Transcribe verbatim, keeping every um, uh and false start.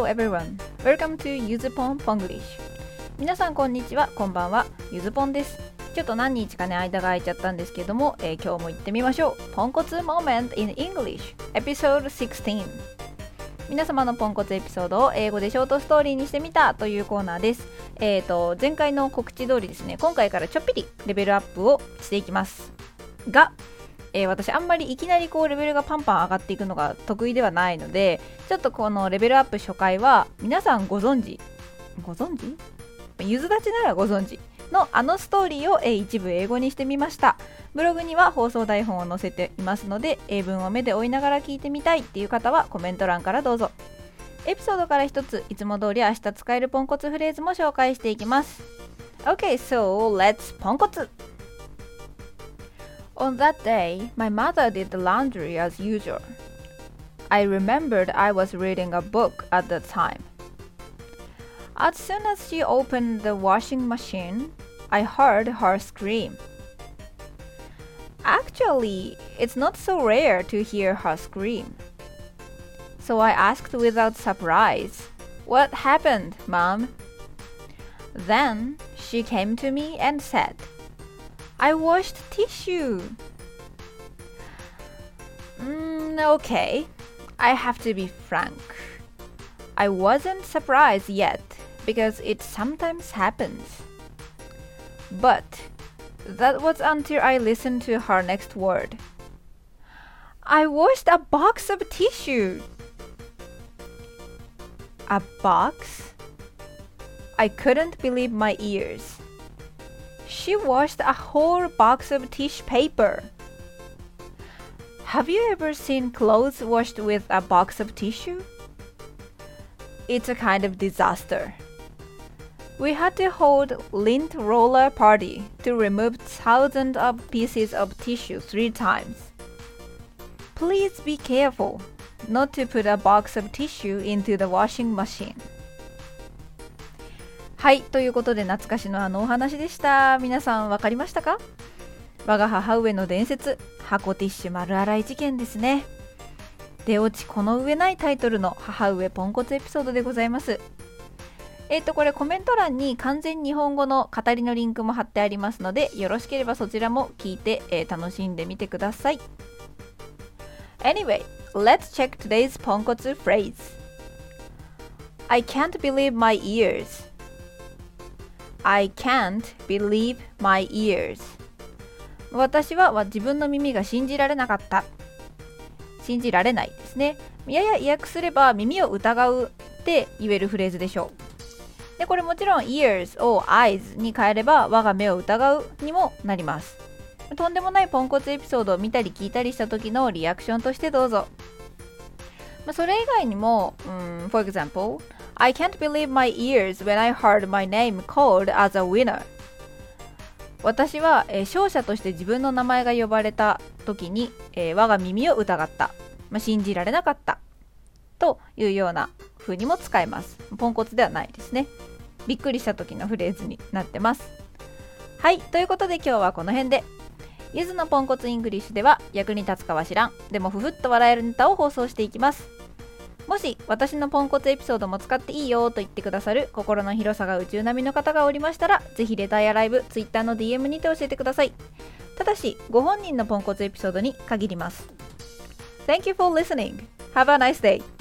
everyone. Welcome to ゆずぽん Ponglish. 皆さんこんにちは、こんばんは。ゆずぽんです。ちょっと何日かね間が空いちゃったんですけども、えー、今日も行ってみましょう。ポンコツ Moment in English Episode じゅうろく。皆様のポンコツエピソードを英語でショートストーリーにしてみたというコーナーです。えーと前回の告知通りですね、今回からちょっぴりレベルアップをしていきますが、えー、私あんまりいきなりこうレベルがパンパン上がっていくのが得意ではないので、ちょっとこのレベルアップ初回は皆さんご存知ご存知ゆず立ちならご存知のあのストーリーを、えー、一部英語にしてみました。ブログには放送台本を載せていますので、英文を目で追いながら聞いてみたいっていう方はコメント欄からどうぞ。エピソードから一ついつも通り明日使えるポンコツフレーズも紹介していきます。 OK, so let's ポンコツ。 On that day, my mother did the laundry as usual. I remembered I was reading a book at the time. As soon as she opened the washing machine, I heard her scream. Actually, it's not so rare to hear her scream. So I asked without surprise, "What happened, Mom?" Then she came to me and said, "I washed tissue." Mm, okay, I have to be frank. I wasn't surprised yet because it sometimes happens. But that was until I listened to her next word. I washed a box of tissue. A box? I couldn't believe my ears. She washed a whole box of tissue paper. Have you ever seen clothes washed with a box of tissue? It's a kind of disaster. We had to hold lint roller party to remove thousands of pieces of tissue three times. Please be careful not to put a box of tissue into the washing machine. はい、ということで懐かしのあのお話でした。皆さんわかりましたか？我が母上の伝説、箱ティッシュ丸洗い事件ですね。出落ちこの上ないタイトルの母上ポンコツエピソードでございます。えっとこれコメント欄に完全日本語の語りのリンクも貼ってありますので、よろしければそちらも聞いて、えー、楽しんでみてください。Anyway, let's check today's ポンコツ phrase. I can't believe my ears. I can't believe my ears. 私は自分の耳が信じられなかった。信じられないですね。やや意訳すれば耳を疑うって言えるフレーズでしょう。でこれもちろん ears を eyes に変えれば我が目を疑うにもなります。とんでもないポンコツエピソードを見たり聞いたりした時のリアクションとしてどうぞ。まあ、それ以外にも、うん、For example, I can't believe my ears when I heard my name called as a winner. 私は、えー、勝者として自分の名前が呼ばれた時に、えー、我が耳を疑った、まあ、信じられなかったというような風にも使えます。ポンコツではないですね。びっくりした時のフレーズになってます。はい、ということで今日はこの辺で。ゆずのポンコツイングリッシュでは役に立つかは知らん、でもふふっと笑えるネタを放送していきます。もし私のポンコツエピソードも使っていいよと言ってくださる心の広さが宇宙並みの方がおりましたら、ぜひレターやライブ、ツイッターの ディーエム にて教えてください。ただしご本人のポンコツエピソードに限ります。 Thank you for listening. Have a nice day.